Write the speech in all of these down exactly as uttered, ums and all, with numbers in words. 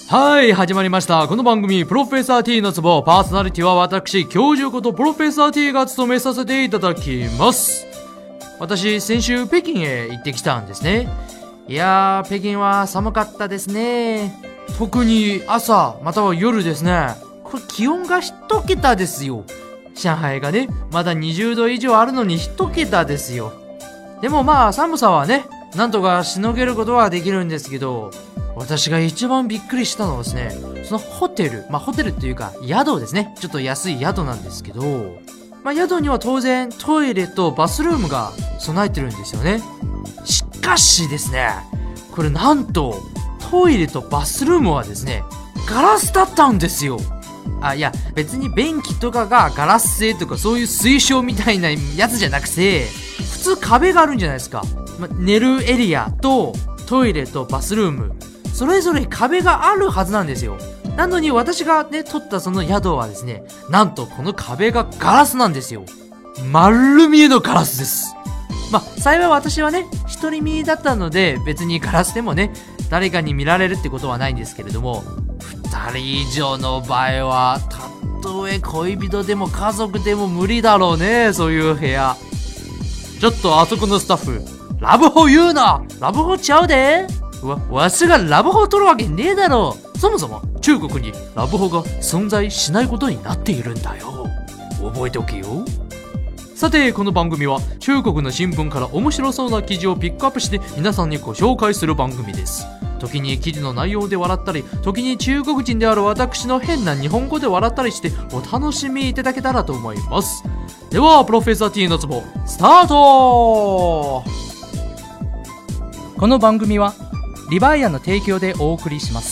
はい、始まりました。この番組、プロフェッサー T のツボ。パーソナリティは私、教授ことプロフェッサー T が務めさせていただきます。私、先週北京へ行ってきたんですね。いやー、北京は寒かったですね。特に朝、または夜ですね。これ気温が一桁ですよ。上海がね、まだにじゅうど以上あるのに一桁ですよ。でもまあ、寒さはね、なんとかしのげることはできるんですけど、私が一番びっくりしたのはですね、そのホテル、まあホテルっていうか宿ですね。ちょっと安い宿なんですけど、まあ宿には当然トイレとバスルームが備えてるんですよね。しかしですね、これなんとトイレとバスルームはですね、ガラスだったんですよ。あ、いや別に便器とかがガラス製とかそういう水晶みたいなやつじゃなくて、普通壁があるんじゃないですか。まあ、寝るエリアとトイレとバスルーム、それぞれ壁があるはずなんですよ。なのに私がね、取ったその宿はですね、なんとこの壁がガラスなんですよ。丸見えのガラスです。まあ、幸い私はね、独り身だったので、別にガラスでもね、誰かに見られるってことはないんですけれども、二人以上の場合は、たとえ恋人でも家族でも無理だろうね、そういう部屋。ちょっとあそこのスタッフ、ラブホ言うな！ラブホちゃうで！わ、わしがラブホを取るわけねえだろう。そもそも中国にラブホが存在しないことになっているんだよ。覚えておけよ。さて、この番組は中国の新聞から面白そうな記事をピックアップして皆さんにご紹介する番組です。時に記事の内容で笑ったり、時に中国人である私の変な日本語で笑ったりしてお楽しみいただけたらと思います。では、プロフェッサー T のツボスタート。この番組はリバイアの提供でお送りします。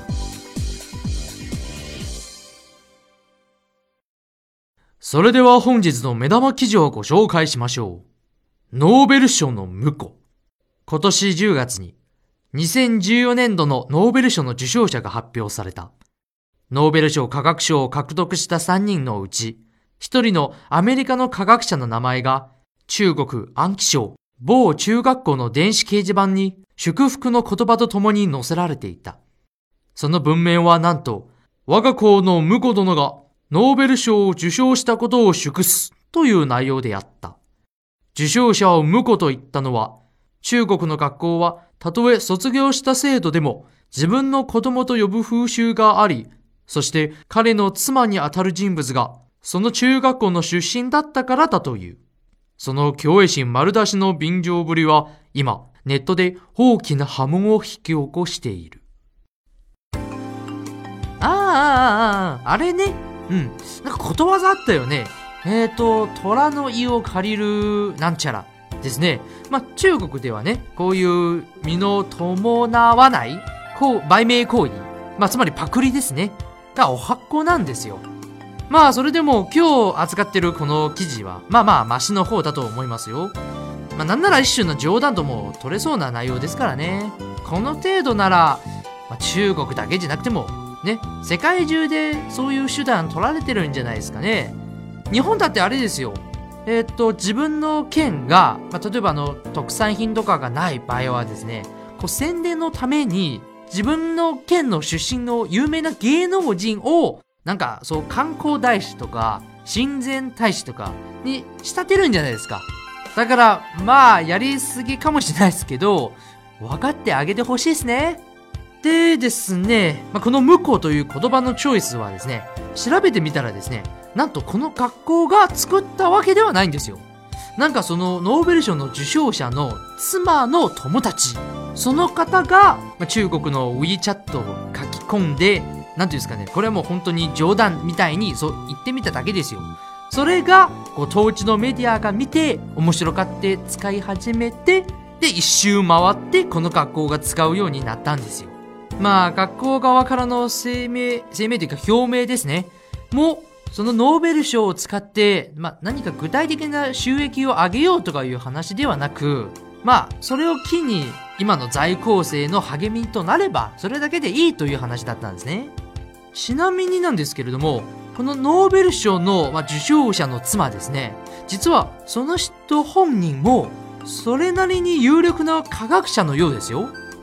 それでは本日の目玉記事をご紹介しましょう。ノーベル賞の婿。今年じゅうがつににせんじゅうよねんどのノーベル賞の受賞者が発表された。ノーベル賞科学賞を獲得したさんにんのうち、ひとりのアメリカの科学者の名前が中国安徽省某中学校の電子掲示板に祝福の言葉とともに載せられていた。その文面はなんと、我が校の婿殿がノーベル賞を受賞したことを祝すという内容であった。受賞者を婿と言ったのは、中国の学校はたとえ卒業した生徒でも自分の子供と呼ぶ風習があり、そして彼の妻にあたる人物がその中学校の出身だったからだという。その虚栄心丸出しの便乗ぶりは今ネットで大きな波紋を引き起こしている。ああ、ああ、あれね。うん。なんかことわざあったよね。えーと、虎の意を借りるなんちゃらですね。まあ、中国ではね、こういう身の伴わない、こう、売名行為。まあ、つまりパクリですね。がおはっこなんですよ。まあ、それでも今日扱ってるこの記事は、まあまあ、マシの方だと思いますよ。まあ、なんなら一種の冗談とも取れそうな内容ですからね。この程度なら、まあ、中国だけじゃなくても、ね、世界中でそういう手段取られてるんじゃないですかね。日本だってあれですよ。えー、っと、自分の県が、まあ、例えばあの、特産品とかがない場合はですね、こう宣伝のために、自分の県の出身の有名な芸能人を、なんか、そう、観光大使とか、親善大使とかに仕立てるんじゃないですか。だから、まあ、やりすぎかもしれないですけど、分かってあげてほしいですね。でですね、まあ、この婿という言葉のチョイスはですね、調べてみたらですね、なんとこの学校が作ったわけではないんですよ。なんかそのノーベル賞の受賞者の妻の友達、その方が、まあ、中国の WeChat を書き込んで、なんていうんですかね、これはもう本当に冗談みたいにそう言ってみただけですよ。それがこう当地のメディアが見て面白がって使い始めて、で一周回ってこの学校が使うようになったんですよ。まあ学校側からの声明声明というか表明ですね、もうそのノーベル賞を使って、まあ、何か具体的な収益を上げようとかいう話ではなく、まあそれを機に今の在校生の励みとなればそれだけでいいという話だったんですね。ちなみになんですけれども、このノーベル賞の、まあ、受賞者の妻ですね、実はその人本人もそれなりに有力な科学者のようですよ。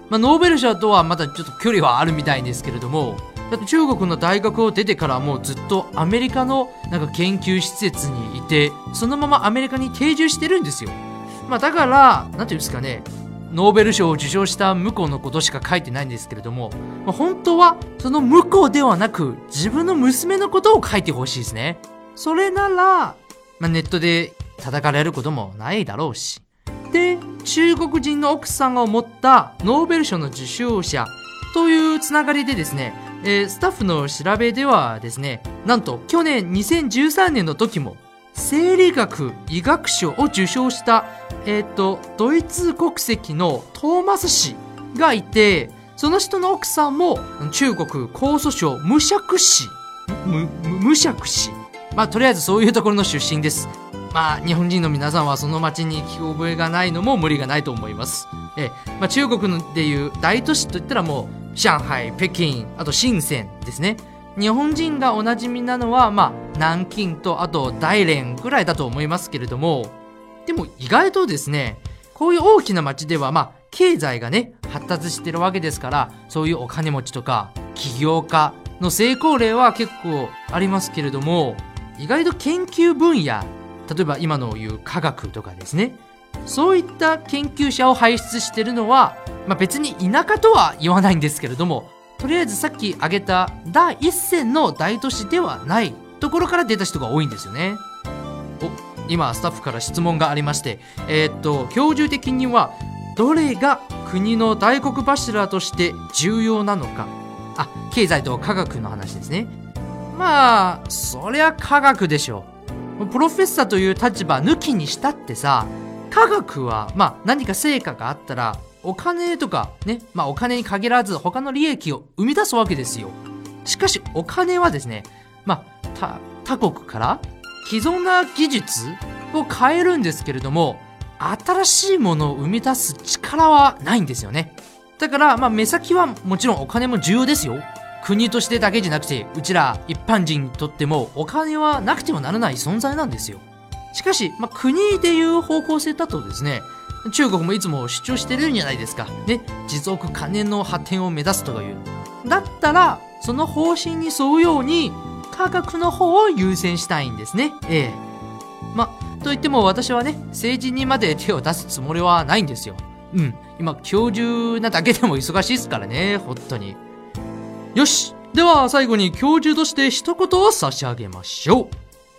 まあ、ノーベル賞とはまたちょっと距離はあるみたいですけれども、だって中国の大学を出てからもうずっとアメリカのなんか研究施設にいて、そのままアメリカに定住してるんですよ。まあだから、なんていうんですかね、ノーベル賞を受賞した向こうのことしか書いてないんですけれども、まあ、本当はその向こうではなく自分の娘のことを書いてほしいですね。それなら、まあ、ネットで叩かれることもないだろうし。で、中国人の奥さんを持ったノーベル賞の受賞者というつながりでですね、えー、スタッフの調べではですね、なんと去年にせんじゅうさんねんの時も生理学医学賞を受賞した、えっと、ドイツ国籍のトーマス氏がいて、その人の奥さんも中国江蘇省無釈氏、む、む、無釈氏。まあ、とりあえずそういうところの出身です。まあ、日本人の皆さんはその町に聞き覚えがないのも無理がないと思います。え、まあ、中国でいう大都市といったらもう、上海、北京、あと深センですね。日本人がおなじみなのは、まあ、南京とあと大連ぐらいだと思いますけれども、でも意外とですね、こういう大きな町では、まあ、経済がね、発達してるわけですから、そういうお金持ちとか、起業家の成功例は結構ありますけれども、意外と研究分野、例えば今の言う科学とかですね、そういった研究者を輩出してるのは、まあ、別に田舎とは言わないんですけれども、とりあえずさっき挙げた第一線の大都市ではないところから出た人が多いんですよね。お、今スタッフから質問がありまして、えー、っと教授的にはどれが国の大黒柱として重要なのか。あ、経済と科学の話ですね。まあそりゃ科学でしょう。プロフェッサーという立場抜きにしたってさ、科学はまあ何か成果があったらお金とかね、まあお金に限らず他の利益を生み出すわけですよ。しかしお金はですね、まあ他、他国から既存な技術を変えるんですけれども、新しいものを生み出す力はないんですよね。だからまあ目先はもちろんお金も重要ですよ。国としてだけじゃなくて、うちら一般人にとってもお金はなくてはならない存在なんですよ。しかし、まあ、国でいう方向性だとですね、中国もいつも主張してるんじゃないですか。ね、持続可能の発展を目指すとかいう。だったら、その方針に沿うように、科学の方を優先したいんですね。ええ。ま、といっても私はね、政治にまで手を出すつもりはないんですよ。うん。今、教授なだけでも忙しいですからね、本当に。よし。では、最後に教授として一言を差し上げましょう。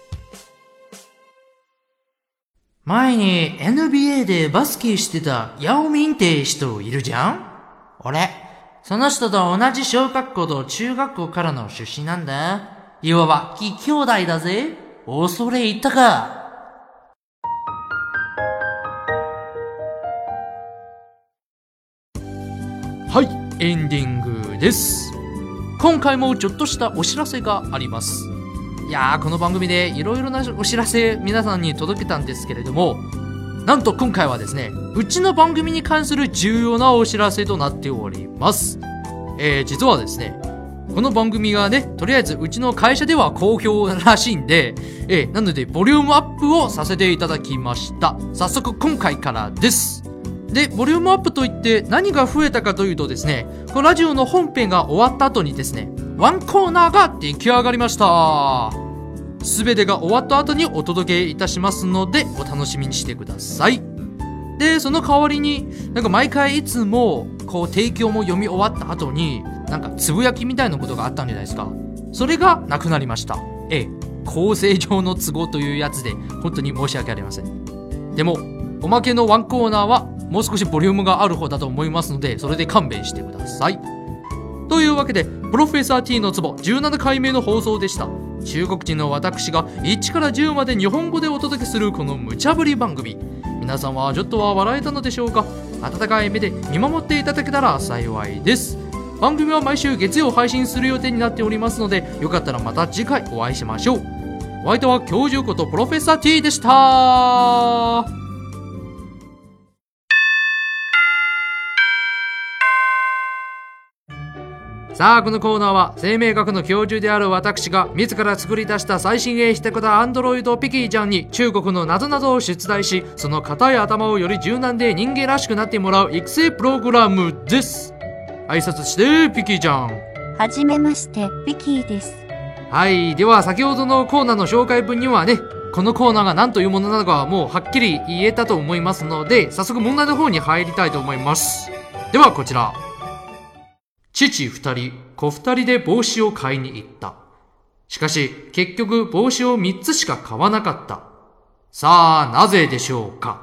前に エヌビーエー でバスケしてたヤオミンって人いるじゃん？俺、その人と同じ小学校と中学校からの出身なんだ。いわば、義兄弟だぜ。恐れ入ったか。はい、エンディングです。今回もちょっとしたお知らせがあります。いやー、この番組でいろいろなお知らせ皆さんに届けたんですけれども、なんと今回はですね、うちの番組に関する重要なお知らせとなっております。えー、実はですね、この番組がね、とりあえずうちの会社では好評らしいんで、えー、なのでボリュームアップをさせていただきました。早速今回からです。で、ボリュームアップといって何が増えたかというとですね、このラジオの本編が終わった後にですね、ワンコーナーが出来上がりました。すべてが終わった後にお届けいたしますので、お楽しみにしてください。で、その代わりに、なんか毎回いつも、こう提供も読み終わった後に、なんかつぶやきみたいなことがあったんじゃないですか。それがなくなりました。ええ、構成上の都合というやつで、本当に申し訳ありません。でも、おまけのワンコーナーは、もう少しボリュームがある方だと思いますので、それで勘弁してください。というわけで、プロフェッサー T のツボじゅうななかいめの放送でした。中国人の私がいちからじゅうまで日本語でお届けするこの無茶ぶり番組。皆さんはちょっとは笑えたのでしょうか？温かい目で見守っていただけたら幸いです。番組は毎週月曜配信する予定になっておりますので、よかったらまた次回お会いしましょう。お相手は教授ことプロフェッサー T でした。 さあこのコーナーは生命学の教授である私が自ら作り出した最新鋭してことアンドロイドピキーちゃんに中国の謎々を出題し、その硬い頭をより柔軟で人間らしくなってもらう育成プログラムです。挨拶してピキーちゃん。 はじめましてピキーです。 はい、では先ほどのコーナーの紹介文にはね、このコーナーが何というものなのかはもうはっきり言えたと思いますので、早速問題の方に入りたいと思います。ではこちら。父二人、子二人で帽子を買いに行った。しかし結局帽子を三つしか買わなかった。さあなぜでしょうか。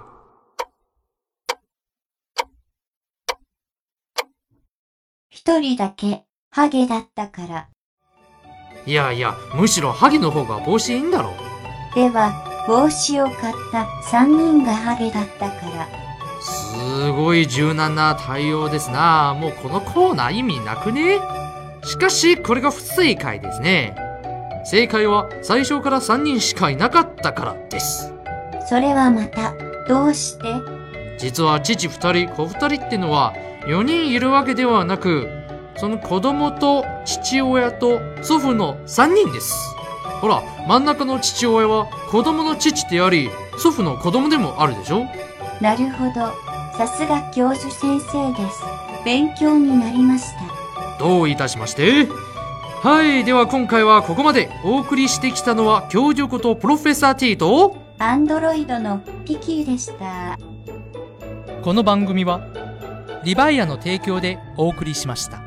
一人だけハゲだったから。 いやいや、むしろハゲの方が帽子いいんだろう。 では帽子を買った三人がハゲだったから。 すごい柔軟な対応ですな。もうこのコーナー意味なくね。しかしこれが不正解ですね。正解は最初からさんにんしかいなかったからです。 それはまたどうして？ 実は父ふたり子ふたりってのはよにんいるわけではなく、その子供と父親と祖父のさんにんです。ほら、真ん中の父親は子供の父であり祖父の子供でもあるでしょ。 なるほど。さすが教授先生です。勉強になりました。 どういたしまして。はい、では今回はここまで。お送りしてきたのは教授ことプロフェッサー T とアンドロイドのピキーでした。 この番組はリバイアの提供でお送りしました。